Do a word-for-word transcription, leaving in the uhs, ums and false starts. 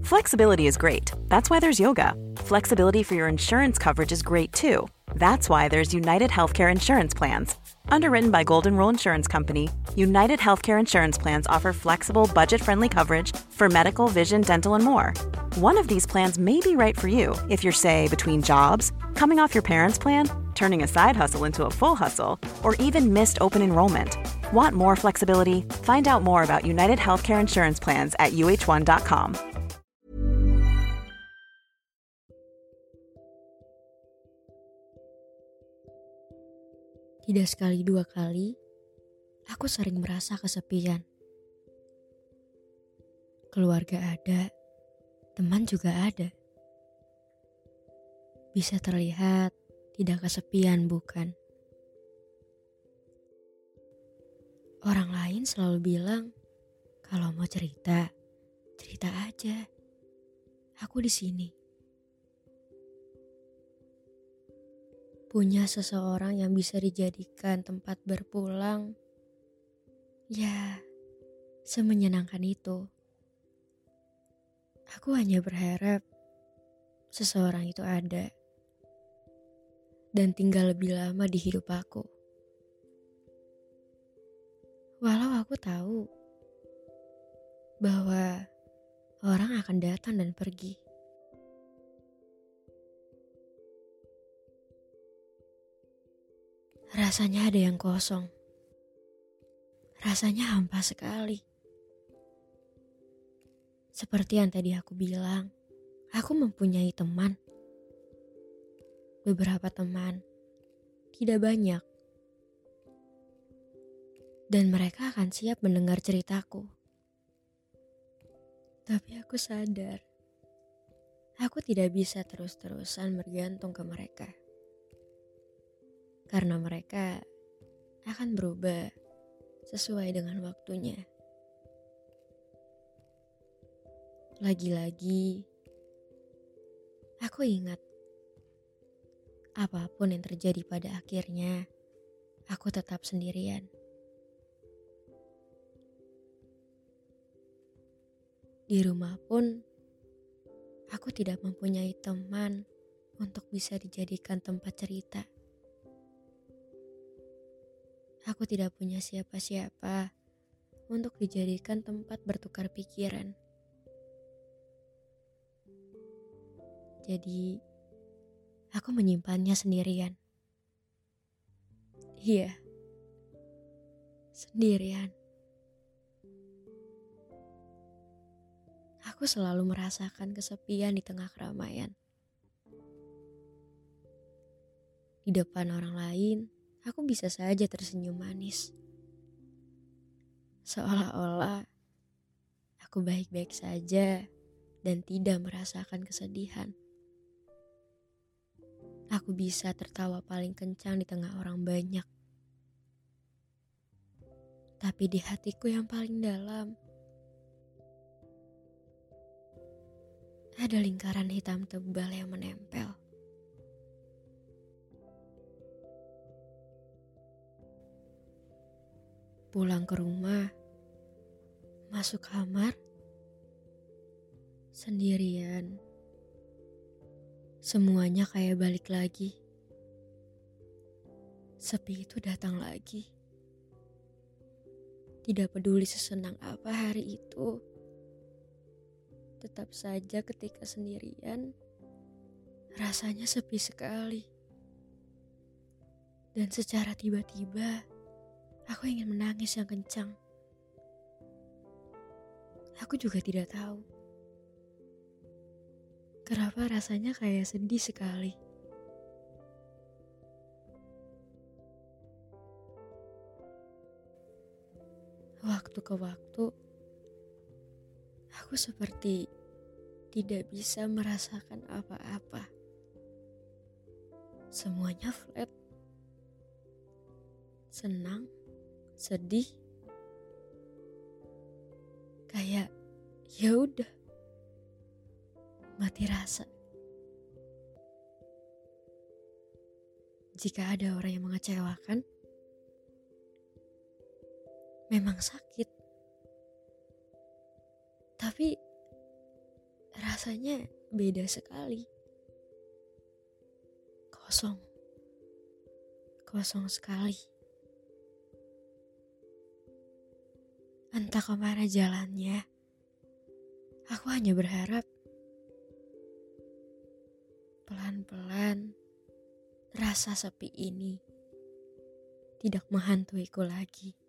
Flexibility is great. That's why there's yoga. Flexibility for your insurance coverage is great too. That's why there's United Healthcare Insurance Plans. Underwritten by Golden Rule Insurance Company, United Healthcare Insurance Plans offer flexible, budget-friendly coverage for medical, vision, dental, and more. One of these plans may be right for you if you're, say, between jobs, coming off your parents' plan, turning a side hustle into a full hustle, or even missed open enrollment. Want more flexibility? Find out more about United Healthcare Insurance Plans at U H one dot com. Tidak sekali dua kali, aku sering merasa kesepian. Keluarga ada, teman juga ada. Bisa terlihat tidak kesepian, bukan? Orang lain selalu bilang, kalau mau cerita, cerita aja. Aku di sini. Punya seseorang yang bisa dijadikan tempat berpulang, ya, semenyenangkan itu. Aku hanya berharap seseorang itu ada dan tinggal lebih lama di hidup aku. Walau aku tahu bahwa orang akan datang dan pergi. Rasanya ada yang kosong. Rasanya hampa sekali. Seperti yang tadi aku bilang, aku mempunyai teman. Beberapa teman, tidak banyak. Dan mereka akan siap mendengar ceritaku. Tapi aku sadar, aku tidak bisa terus-terusan bergantung ke mereka. Karena mereka akan berubah sesuai dengan waktunya. Lagi-lagi, aku ingat, apapun yang terjadi pada akhirnya, aku tetap sendirian. Di rumah pun, aku tidak mempunyai teman untuk bisa dijadikan tempat cerita. Aku tidak punya siapa-siapa untuk dijadikan tempat bertukar pikiran. Jadi, aku menyimpannya sendirian. Iya, sendirian. Aku selalu merasakan kesepian di tengah keramaian. Di depan orang lain, aku bisa saja tersenyum manis. Seolah-olah aku baik-baik saja dan tidak merasakan kesedihan. Aku bisa tertawa paling kencang di tengah orang banyak. Tapi di hatiku yang paling dalam, ada lingkaran hitam tebal yang menempel. Pulang ke rumah, masuk kamar, sendirian. Semuanya kayak balik lagi. Sepi itu datang lagi. Tidak peduli sesenang apa hari itu. Tetap saja ketika sendirian, rasanya sepi sekali. Dan secara tiba-tiba, aku ingin menangis yang kencang. Aku juga tidak tahu kenapa rasanya kayak sedih sekali. Waktu ke waktu, aku seperti tidak bisa merasakan apa-apa. Semuanya flat. Senang, sedih, kayak ya udah mati rasa. Jika ada orang yang mengecewakan, memang sakit. Tapi rasanya beda sekali. Kosong. Kosong sekali. Entah kemana jalannya. Aku hanya berharap pelan-pelan rasa sepi ini tidak menghantuiku lagi.